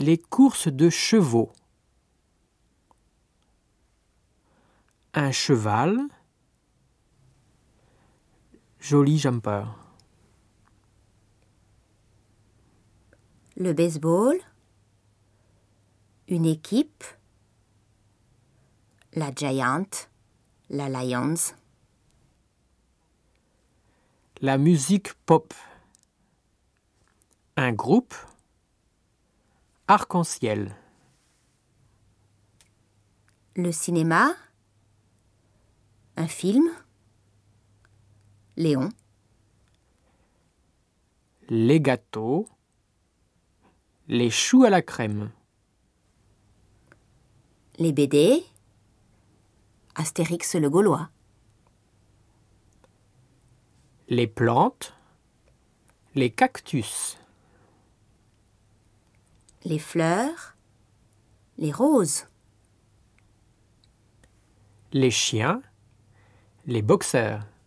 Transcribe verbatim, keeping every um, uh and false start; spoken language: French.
Les courses de chevaux. Un cheval. Joli jumper. Le baseball. Une équipe. La Giant. La Lions. La musique pop. Un groupe. Arc-en-ciel. Le cinéma. Un film. Léon. Les gâteaux. Les choux à la crème. Les B D. Astérix le Gaulois. Les plantes. Les cactus. Les fleurs. Les roses. Les chiens. Les boxeurs.